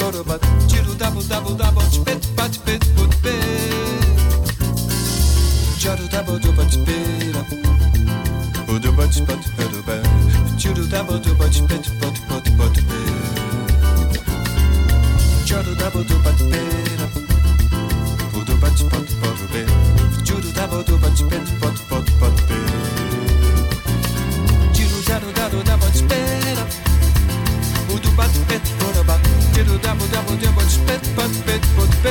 porobat, tiru dabo dabo dabo, pet pat pet pot pe. Jaru dabo do bat pera, odo bat pat peroba, tiru dabo do bat pet pot pot pot pe. Jaru dabo do bat pera, odo bat pot pot pe, tiru dabo do bat pet pot pot pot pe. Tiru dabo dabo dabo pera. Udu bat pet poroba, tiru dabo dabo dabo pet pat pet pot pe.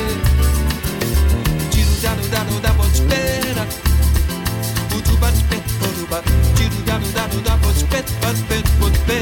Tiru dabo dabo dabo pera. Udu bat pet poroba, tiru dabo dabo dabo pet pat pet pot pe.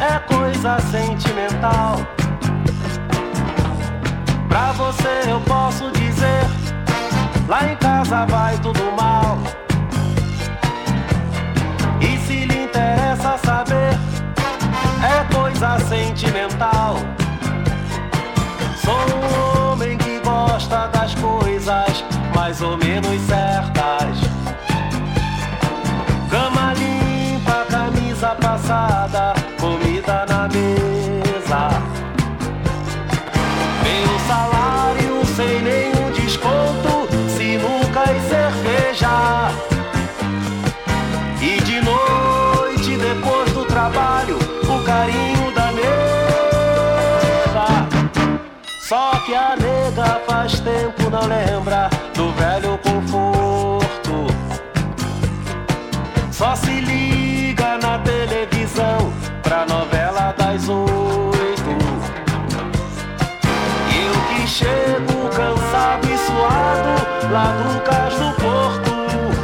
é coisa sentimental. Pra você eu posso dizer, lá em casa vai tudo mal. E se lhe interessa saber, é coisa sentimental. Sou um homem que gosta das coisas mais ou menos certas. Cama limpa, camisa passada, comida na mesa. Meu salário sem nenhum desconto, sinuca e cerveja. E de noite, depois do trabalho, o carinho da nega. Só que a nega faz tempo não lembra do velho conforto. Só se liga na televisão pra novela das 8. E eu que chego cansado e suado lá do Cais do Porto.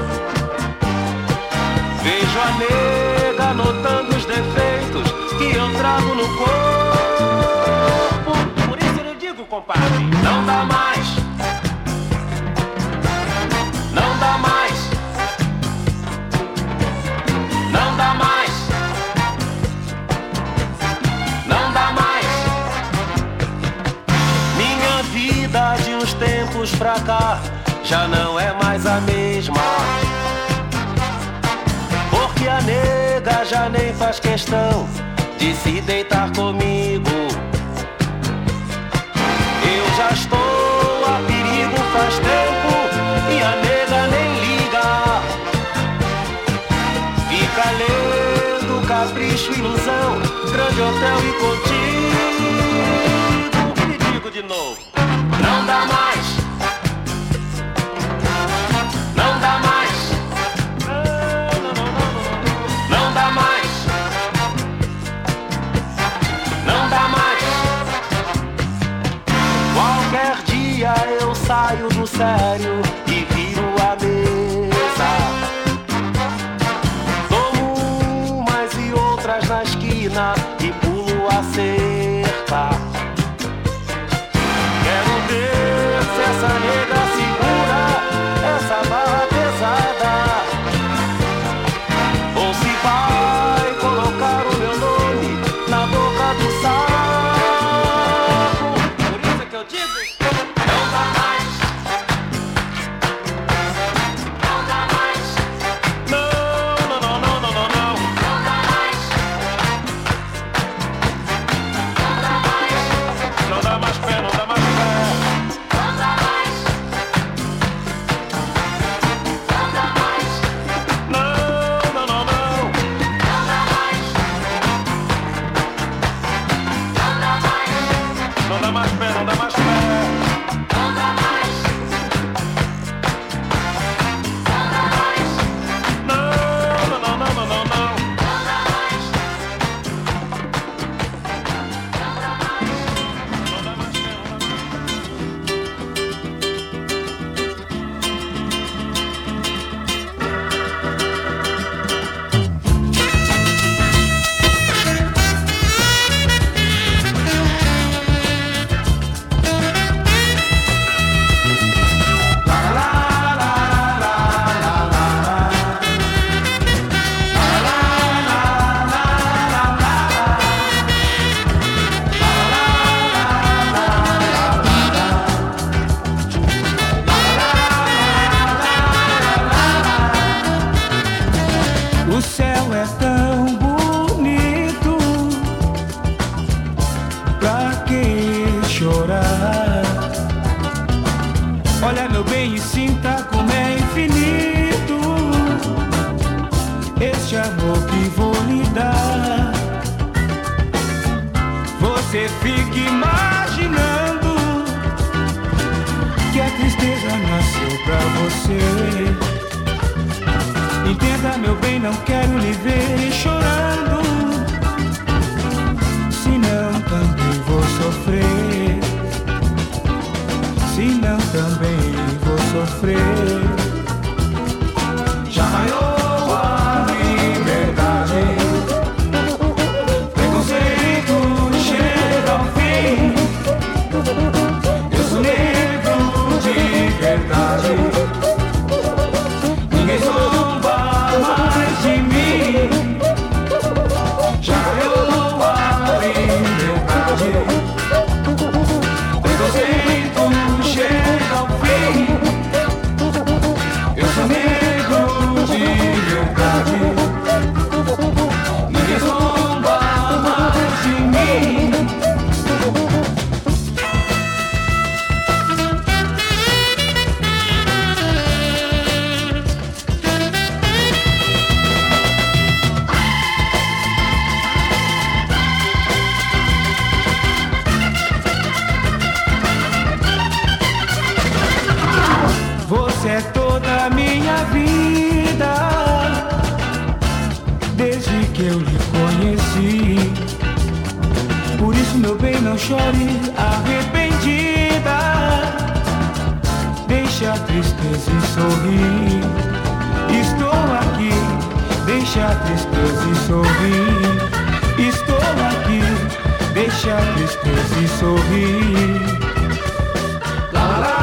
Vejo a nega notando os defeitos que eu trago no corpo. Por isso eu digo, compadre, não dá mais. Não dá mais. Não dá mais. Não dá mais. Minha vida de uns tempos pra cá já não é mais a mesma. Porque a nega já nem faz questão de se deitar comigo. Eu já estou a perigo faz tempo e a nega nem liga. Fica lendo Capricho, Ilusão, Grande Hotel e Contigo. E digo de novo, não dá mais. Não dá mais. Não dá mais. Não dá mais. Qualquer dia eu saio do sério e viro a mesa. Tomo umas e outras na esquina e pulo a cerca. Quero ver se essa nega segura essa barra pesada, ou se vai colocar o meu nome na boca do saco. Por isso é que eu digo, não dá mais. Não dá mais. Não, não, não, não, não, não, não. Não dá mais. Não dá mais. Não dá mais pé, não dá mais pé. Não dá mais. Não dá mais. Não, não, não, não. Não dá mais. Não dá mais. Não dá mais pé, não dá mais pé. Não dá mais. Não dá mais. Não, não, não, não, não, não, não. Não dá mais. Não dá mais. Não dá mais pé, não dá mais. O céu é tão bonito, pra que chorar? Olha, meu bem, e sinta como é infinito este amor que vou lhe dar. Você fica imaginando que a tristeza nasceu pra você. Entenda, meu bem, não quero lhe ver chorando, senão também vou sofrer. Senão também vou sofrer. Já raiou a liberdade, preconceito chore arrependida. Deixa a tristeza e sorrir. Estou aqui. Deixa a tristeza e sorrir. Estou aqui. Deixa a tristeza e sorrir. La la.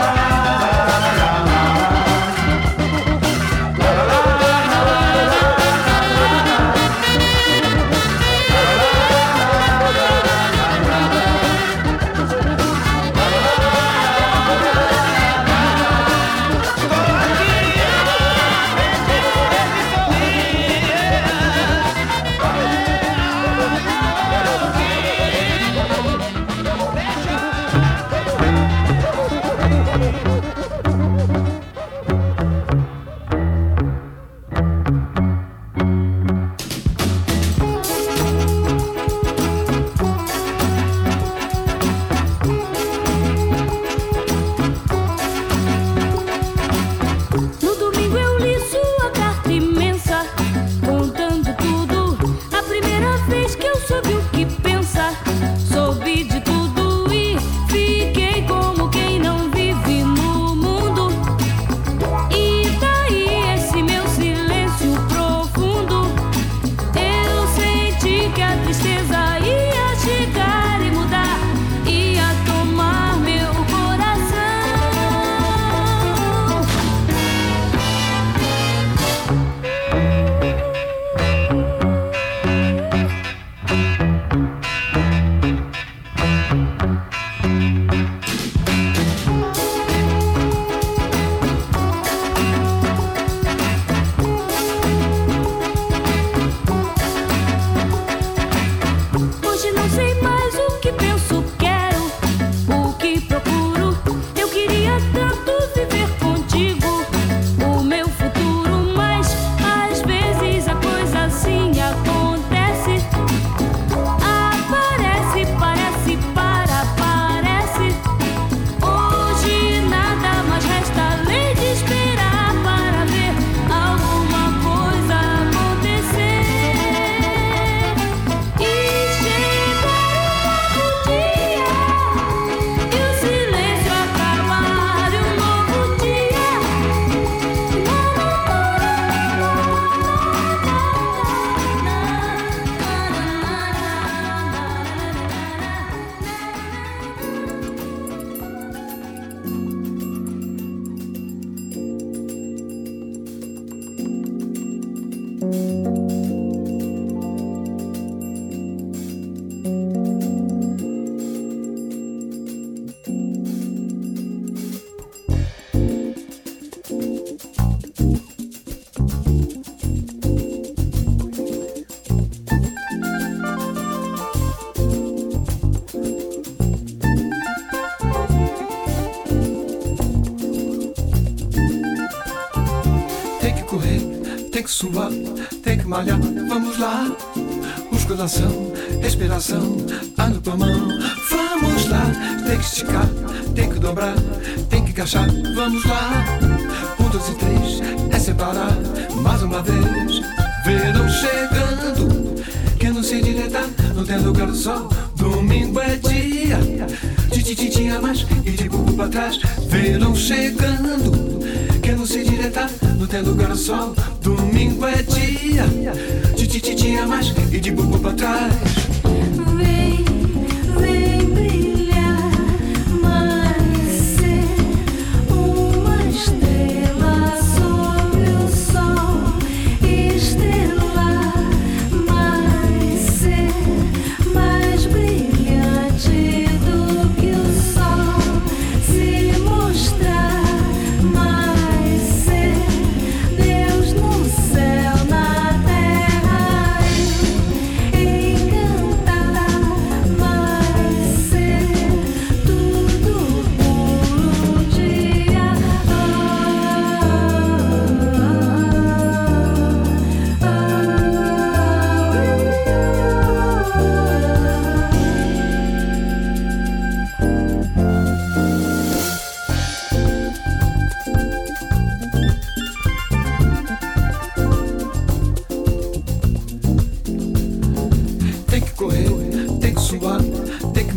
Suar, tem que malhar, vamos lá. Musculação, respiração, ando com a mão. Vamos lá, tem que esticar, tem que dobrar, tem que encaixar, vamos lá. 1, 2 e 3, é separar, mais uma vez. Verão chegando, que não se direita, não tem lugar do sol. Domingo é dia, de tinha mais e de bubo pra trás. Verão chegando, que não se direita, não tem lugar do sol. Domingo é dia, de tinha mais e de bubo pra trás. Vem, vem brilhar, mais ser uma estrela sobre o sol. Estrelar, mais ser mais brilhante do que o sol. Se mostrar, mais ser Deus no céu, na terra, eu encantar.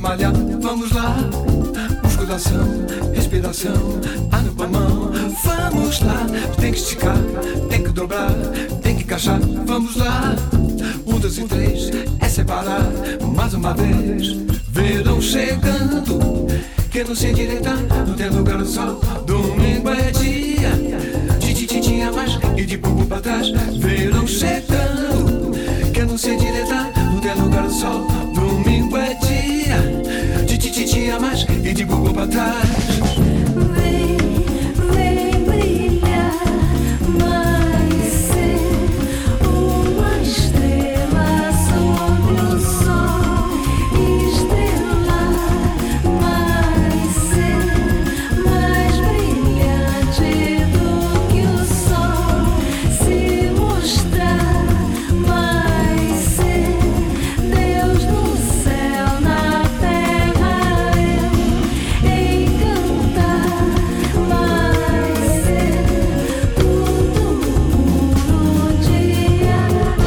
malhar, vamos lá. Musculação, respiração, ar no pulmão. Vamos lá, tem que esticar, tem que dobrar, tem que encaixar. Vamos lá, 1, 2 e 3, é separar. Mais uma vez, verão chegando. Quem não se endireitar, não tem lugar no sol. Domingo é dia de tititinha mais e de bumbum pra trás. Verão chegando. Quem não se endireitar, não tem lugar no sol. Domingo é dia de tititinha mais e de bumbum pra trás. Vem, vem brilhar, mais ser uma estrela sobre o sol. Estrelar, mais ser mais brilhante do que o sol. Se mostrar, mais ser Deus no céu, na terra eu encantar, mais ser tudo no dia.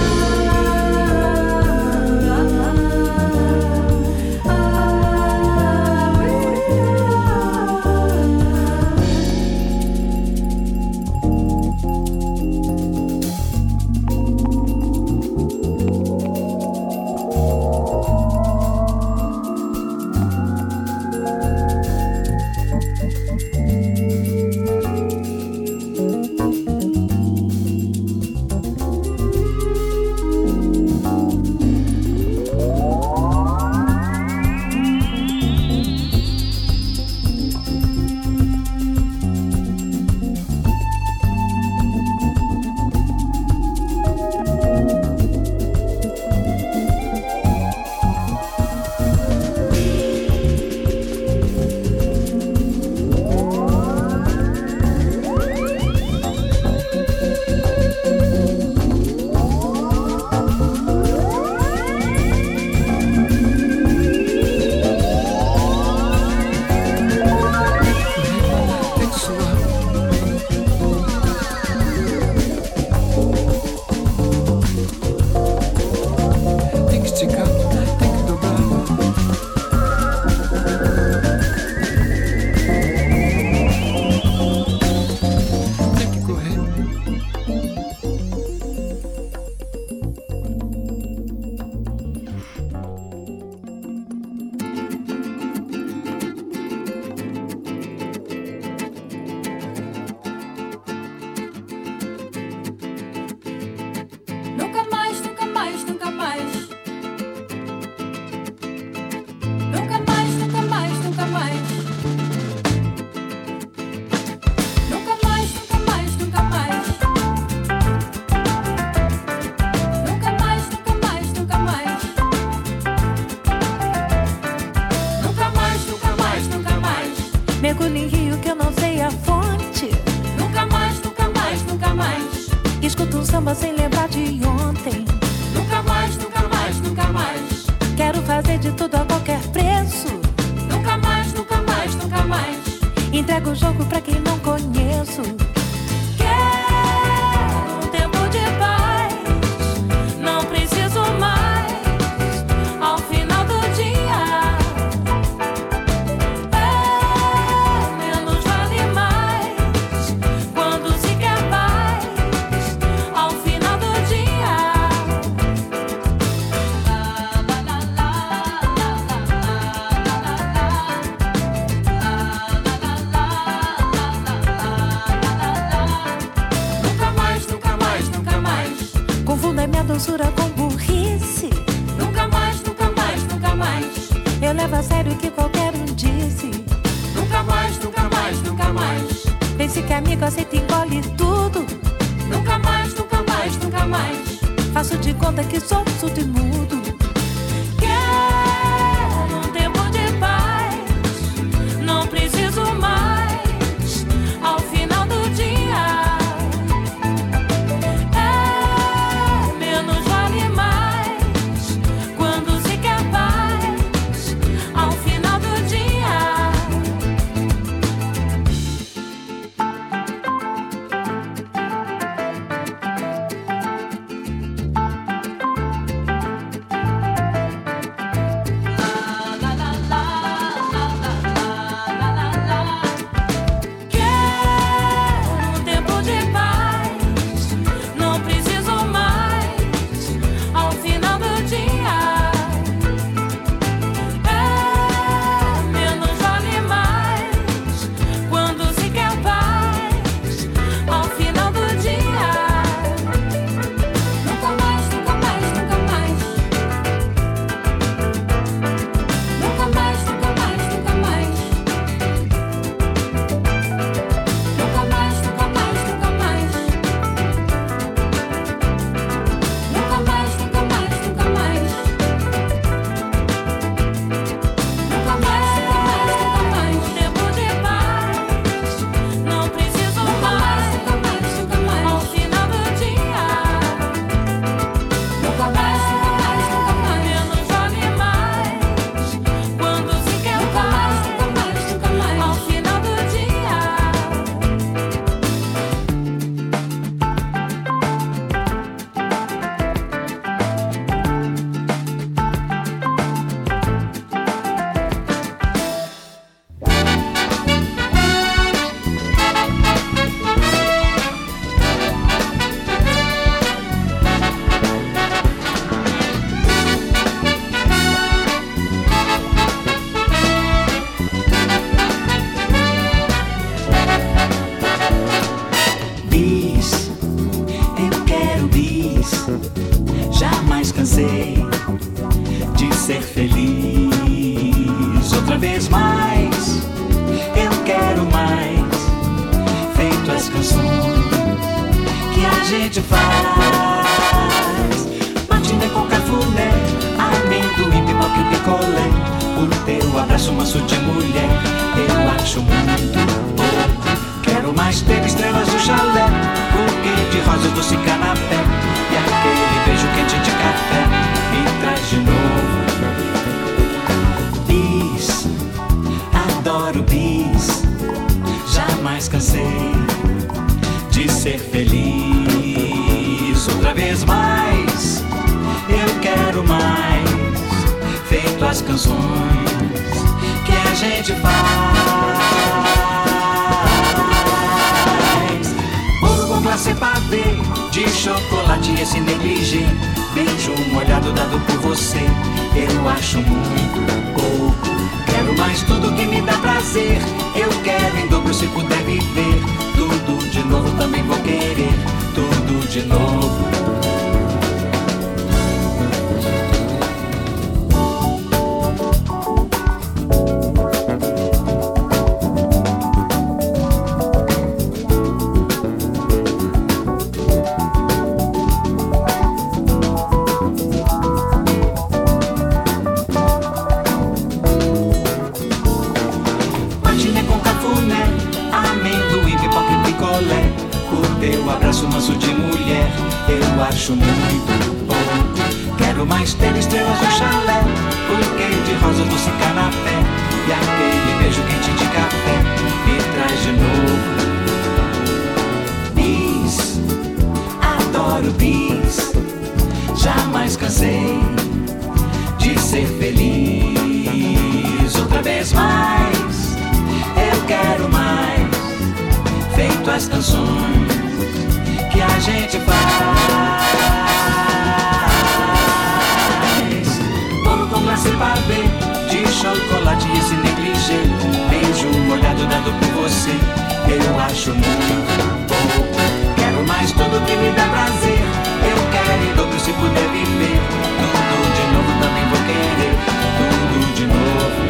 Tem que suar, tem que esticar, tem que dobrar. Tem que correr. Nunca mais, nunca mais, nunca mais. Nunca mais, nunca mais, nunca mais. Nunca mais, nunca mais, nunca mais. Nunca mais, nunca mais, nunca mais. Nunca mais, nunca mais, nunca mais. Mergulho em rio que eu não sei a fonte. Nunca mais, nunca mais, nunca mais. Escuto um samba sem lembrar de ontem. Nunca mais, nunca mais, nunca mais. Quero fazer de tudo a qualquer preço. Nunca mais, nunca mais, nunca mais. Entrego o jogo pra quem não conheço. Quero um tempo de paz. Não preciso mais. Ao final do dia, menos vale mais. Quando se quer paz. Ao final do dia. Nunca mais, nunca mais, nunca mais. Confunda minha doçura com burrice. Nunca mais, nunca mais, nunca mais. Eu levo a sério o que qualquer um disse. Nunca mais, nunca mais, nunca mais. Pense que amigo aceita e engole tudo. Nunca mais, nunca mais, nunca mais. Faço de conta que sou surdo e mudo. Quero um tempo de paz. Não preciso mais. Ao final do dia, menos vale mais. Quando se quer paz. Ao final do dia. ser feliz outra vez mais. Eu quero mais, feito as canções que a gente faz. Matinê com cafuné, amendoim, pipoca e picolé. O teu abraço manso de mulher, eu acho muito pouco. Quero mais ter estrelas no chalé, buquê de rosas, doce canapé, e aquele beijo quente de café me traz de novo. Bis, adoro bis, jamais cansei de ser feliz outra vez mais. Eu quero mais, feito as canções que a gente faz. Bolo com glacê pavê, de chocolate esse negligê. Beijo molhado dado por você, eu acho muito pouco. Quero mais tudo que me dá prazer. Eu quero em dobro se puder viver. Tudo de novo também vou querer, tudo de novo. Acho muito pouco. Quero mais ter estrelas no chalé, buquê de rosas, doce canapé, e aquele beijo quente de café me traz de novo. Bis, adoro bis, jamais cansei de ser feliz outra vez mais. Eu quero mais, feito as canções que a gente faz. Bolo com glacê pavê, de chocolate e esse negligê. Beijo molhado dado por você, eu acho muito pouco. Quero mais tudo que me dá prazer. Eu quero em dobro se puder viver. Tudo de novo também vou querer, tudo de novo.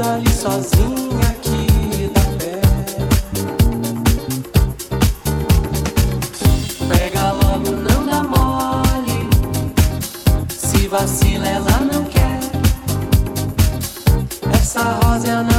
parada ali sozinha aqui da pé. Pega logo, não dá mole. Se vacila, ela não quer. Essa rosa é a